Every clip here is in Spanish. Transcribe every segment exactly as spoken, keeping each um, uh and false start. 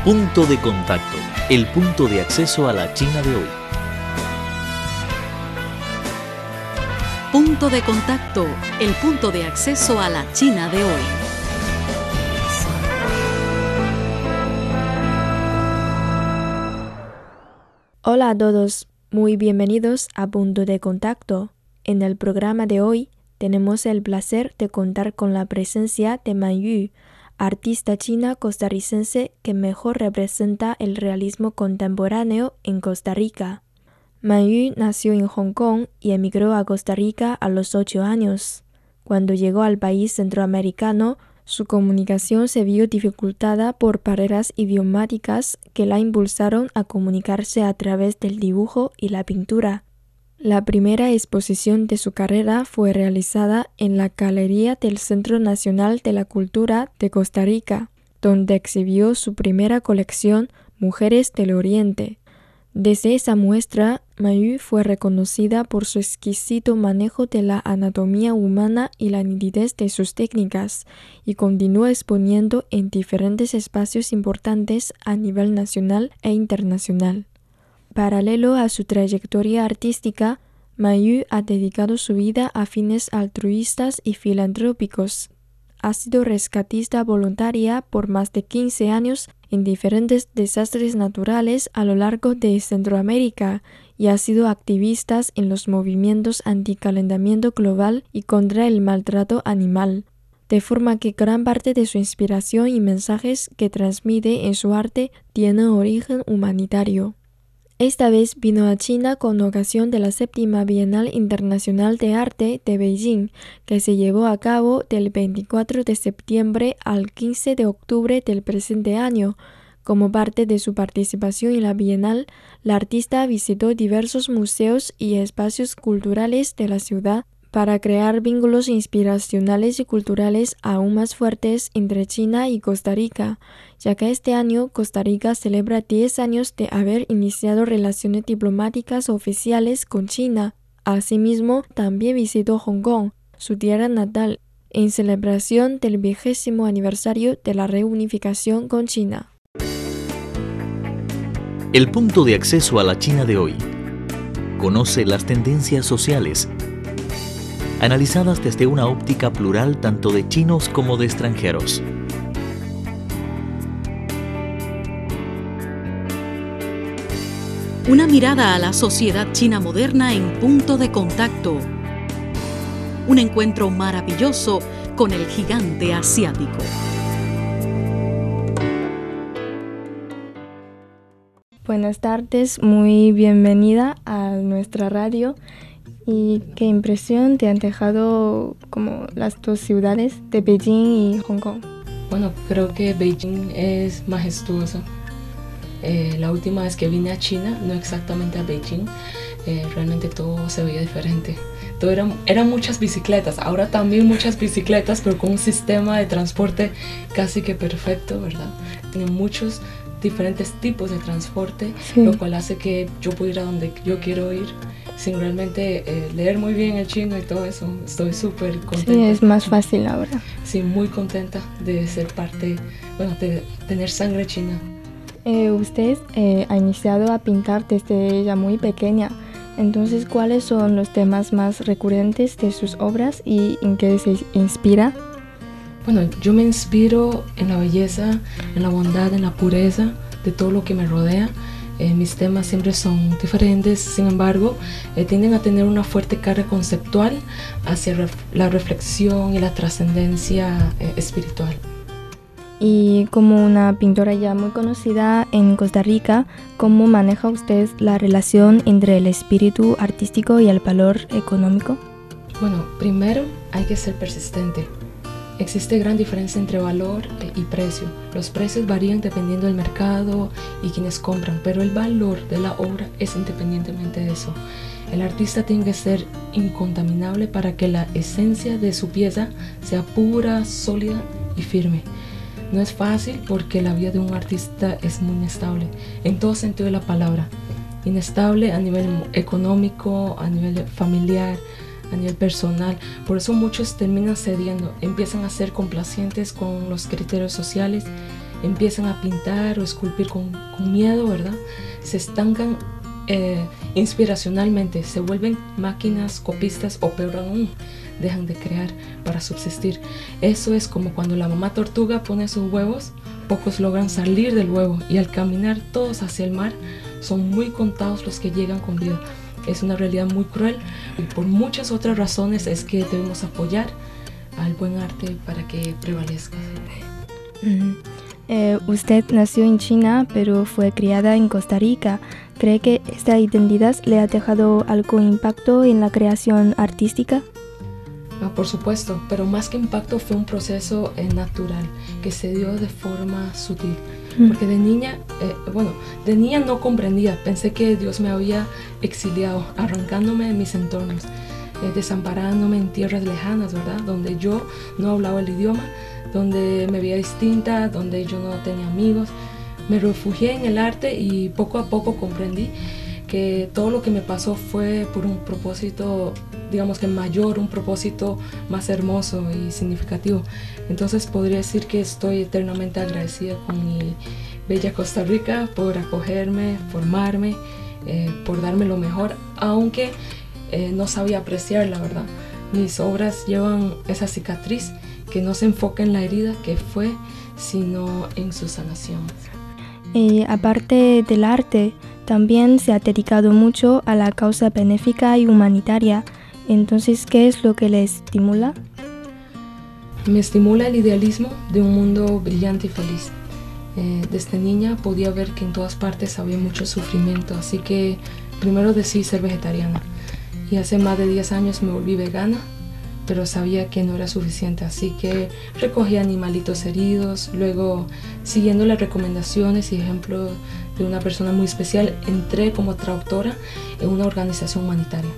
Punto de contacto, el punto de acceso a la China de hoy. Punto de contacto, el punto de acceso a la China de hoy. Hola a todos, muy bienvenidos a Punto de Contacto. En el programa de hoy tenemos el placer de contar con la presencia de Man Yu, artista china costarricense que mejor representa el realismo contemporáneo en Costa Rica. Man Yu nació en Hong Kong y emigró a Costa Rica a los ocho años. Cuando llegó al país centroamericano, su comunicación se vio dificultada por barreras idiomáticas que la impulsaron a comunicarse a través del dibujo y la pintura. La primera exposición de su carrera fue realizada en la Galería del Centro Nacional de la Cultura de Costa Rica, donde exhibió su primera colección Mujeres del Oriente. Desde esa muestra, Man Yu fue reconocida por su exquisito manejo de la anatomía humana y la nitidez de sus técnicas, y continuó exponiendo en diferentes espacios importantes a nivel nacional e internacional. Paralelo a su trayectoria artística, Man Yu ha dedicado su vida a fines altruistas y filantrópicos. Ha sido rescatista voluntaria por más de quince años en diferentes desastres naturales a lo largo de Centroamérica y ha sido activista en los movimientos anticalentamiento global y contra el maltrato animal, de forma que gran parte de su inspiración y mensajes que transmite en su arte tienen origen humanitario. Esta vez vino a China con ocasión de la séptima Bienal Internacional de Arte de Beijing, que se llevó a cabo del veinticuatro de septiembre al quince de octubre del presente año. Como parte de su participación en la Bienal, la artista visitó diversos museos y espacios culturales de la ciudad para crear vínculos inspiracionales y culturales aún más fuertes entre China y Costa Rica, ya que este año Costa Rica celebra diez años de haber iniciado relaciones diplomáticas oficiales con China. Asimismo, también visitó Hong Kong, su tierra natal, en celebración del vigésimo aniversario de la reunificación con China. El punto de acceso a la China de hoy. Conoce las tendencias sociales, analizadas desde una óptica plural tanto de chinos como de extranjeros. Una mirada a la sociedad china moderna en Punto de Contacto. Un encuentro maravilloso con el gigante asiático. Buenas tardes, muy bienvenida a nuestra radio. ¿Y qué impresión te han dejado como las dos ciudades de Beijing y Hong Kong? Bueno, creo que Beijing es majestuoso. Eh, la última vez que vine a China, no exactamente a Beijing, eh, realmente todo se veía diferente. Todo era, eran muchas bicicletas, ahora también muchas bicicletas, pero con un sistema de transporte casi que perfecto, ¿verdad? Tienen muchos diferentes tipos de transporte, sí. Lo cual hace que yo pueda ir a donde yo quiero ir sin realmente eh, leer muy bien el chino y todo eso. Estoy súper contenta. Sí, es más fácil ahora. Sí, muy contenta de ser parte, bueno, de tener sangre china. Eh, usted eh, ha iniciado a pintar desde ella muy pequeña. Entonces, ¿cuáles son los temas más recurrentes de sus obras y en qué se inspira? Bueno, yo me inspiro en la belleza, en la bondad, en la pureza de todo lo que me rodea. Eh, mis temas siempre son diferentes, sin embargo, eh, tienden a tener una fuerte carga conceptual hacia ref la reflexión y la trascendencia eh, espiritual. Y como una pintora ya muy conocida en Costa Rica, ¿cómo maneja usted la relación entre el espíritu artístico y el valor económico? Bueno, primero hay que ser persistente. Existe gran diferencia entre valor y precio. Los precios varían dependiendo del mercado y quienes compran, pero el valor de la obra es independientemente de eso. El artista tiene que ser incontaminable para que la esencia de su pieza sea pura, sólida y firme. No es fácil porque la vida de un artista es muy inestable, en todo sentido de la palabra. Inestable a nivel económico, a nivel familiar, a nivel personal. Por eso muchos terminan cediendo, empiezan a ser complacientes con los criterios sociales empiezan a pintar o esculpir con, con miedo, ¿verdad? Se estancan eh, inspiracionalmente, se vuelven máquinas copistas o peor aún, dejan de crear para subsistir. Eso es como cuando la mamá tortuga pone sus huevos, pocos logran salir del huevo y al caminar todos hacia el mar, son muy contados los que llegan con vida. Es una realidad muy cruel y por muchas otras razones es que debemos apoyar al buen arte para que prevalezca. Mm. Eh, usted nació en China, pero fue criada en Costa Rica. ¿Cree que esta identidad le ha dejado algún impacto en la creación artística? Ah, por supuesto, pero más que impacto fue un proceso eh, natural que se dio de forma sutil. Mm. Porque de niña, eh, bueno, de niña no comprendía, pensé que Dios me había exiliado, arrancándome de mis entornos, eh, desamparándome en tierras lejanas, ¿verdad? Donde yo no hablaba el idioma, donde me veía distinta, donde yo no tenía amigos. Me refugié en el arte y poco a poco comprendí que todo lo que me pasó fue por un propósito, digamos que mayor, un propósito más hermoso y significativo. Entonces podría decir que estoy eternamente agradecida con mi bella Costa Rica por acogerme, formarme, eh, por darme lo mejor, aunque eh, no sabía apreciar, la verdad. Mis obras llevan esa cicatriz que no se enfoca en la herida que fue, sino en su sanación. Eh, aparte del arte, también se ha dedicado mucho a la causa benéfica y humanitaria. Entonces, ¿qué es lo que le estimula? Me estimula el idealismo de un mundo brillante y feliz. Eh, desde niña podía ver que en todas partes había mucho sufrimiento, así que primero decidí ser vegetariana. Y hace más de diez años me volví vegana, pero sabía que no era suficiente, así que recogí animalitos heridos. Luego, siguiendo las recomendaciones y ejemplos de una persona muy especial, entré como traductora en una organización humanitaria.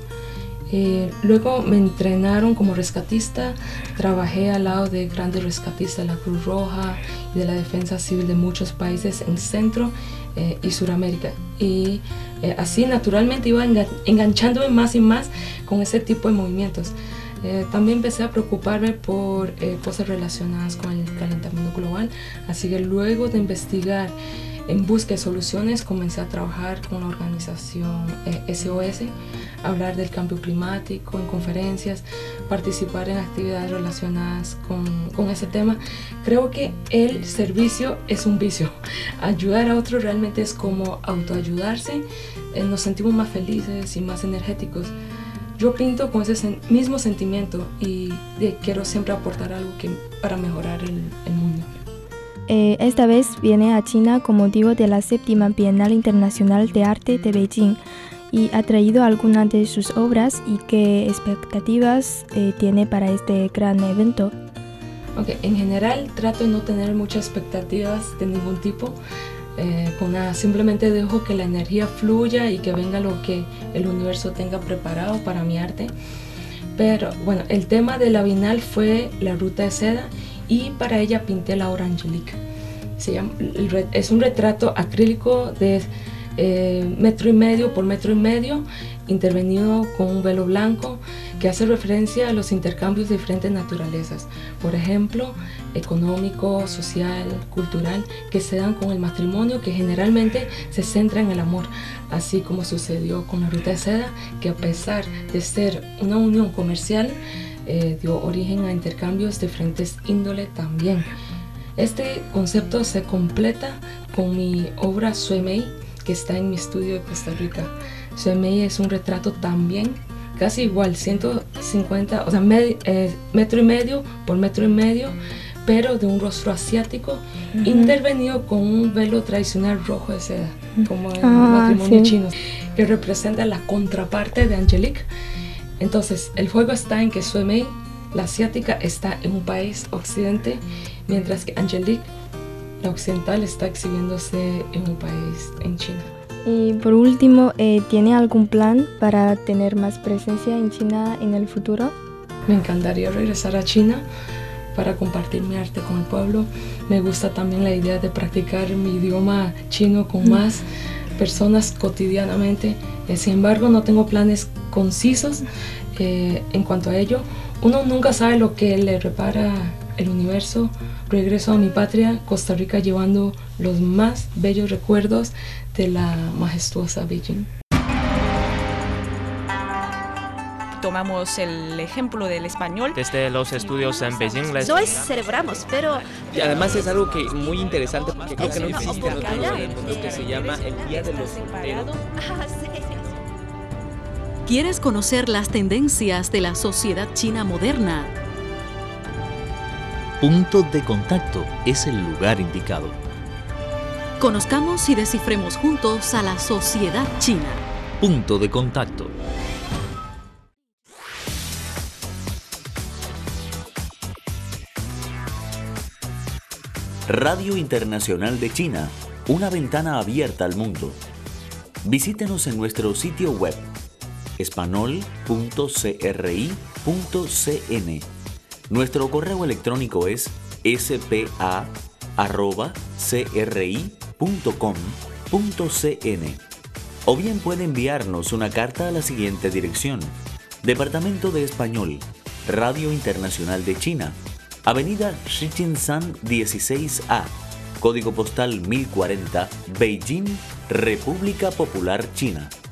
Eh, luego me entrenaron como rescatista, trabajé al lado de grandes rescatistas de la Cruz Roja y de la Defensa Civil de muchos países en Centro eh, y Suramérica. Y eh, así naturalmente iba engan- enganchándome más y más con ese tipo de movimientos. Eh, también empecé a preocuparme por eh, cosas relacionadas con el calentamiento global, así que luego de investigar en busca de soluciones comencé a trabajar con la organización eh, S O S, hablar del cambio climático en conferencias, participar en actividades relacionadas con, con ese tema. Creo que el servicio es un vicio, ayudar a otros realmente es como autoayudarse, eh, nos sentimos más felices y más energéticos. Yo pinto con ese sen- mismo sentimiento y de, quiero siempre aportar algo que, para mejorar el, el mundo. Eh, esta vez viene a China con motivo de la séptima Bienal Internacional de Arte de Beijing y ha traído algunas de sus obras y qué expectativas eh, tiene para este gran evento. Okay, en general trato de no tener muchas expectativas de ningún tipo. Eh, con nada, simplemente dejo que la energía fluya y que venga lo que el universo tenga preparado para mi arte. Pero bueno, el tema de la Bienal fue la ruta de seda y para ella pinté la obra Angelique. Se llama, es un retrato acrílico de eh, metro y medio por metro y medio, intervenido con un velo blanco que hace referencia a los intercambios de diferentes naturalezas, por ejemplo, económico, social, cultural, que se dan con el matrimonio, que generalmente se centra en el amor, así como sucedió con la ruta de seda, que a pesar de ser una unión comercial, eh, dio origen a intercambios de diferentes índole también. Este concepto se completa con mi obra Suemei, que está en mi estudio de Costa Rica. Suemei es un retrato también casi igual, ciento cincuenta, o sea, med, eh, metro y medio por metro y medio, pero de un rostro asiático, uh-huh. intervenido con un velo tradicional rojo de seda, como en ah, el matrimonio sí. chino, que representa la contraparte de Angelique. Entonces, el juego está en que Suemei, la asiática, está en un país occidente, mientras que Angelique, la occidental, está exhibiéndose en un país en China. Y por último, eh, ¿tiene algún plan para tener más presencia en China en el futuro? Me encantaría regresar a China para compartir mi arte con el pueblo. Me gusta también la idea de practicar mi idioma chino con mm. más personas cotidianamente. Eh, sin embargo, no tengo planes concisos eh, en cuanto a ello. Uno nunca sabe lo que le repara el universo, regreso a mi patria, Costa Rica, llevando los más bellos recuerdos de la majestuosa Beijing. Tomamos el ejemplo del español. Desde los estudios en Beijing les... No es celebramos, pero... Y además es algo que muy interesante porque creo que no existe en otro mundo, que se llama el Día de los Solteros. ¿Quieres conocer las tendencias de la sociedad china moderna? Punto de Contacto es el lugar indicado. Conozcamos y descifremos juntos a la sociedad china. Punto de Contacto. Radio Internacional de China, una ventana abierta al mundo. Visítenos en nuestro sitio web espanol punto cri punto cn. Nuestro correo electrónico es s p a arroba cri punto com punto cn. O bien puede enviarnos una carta a la siguiente dirección: Departamento de Español, Radio Internacional de China, Avenida Shijinshan dieciséis A, Código Postal mil cuarenta, Beijing, República Popular China.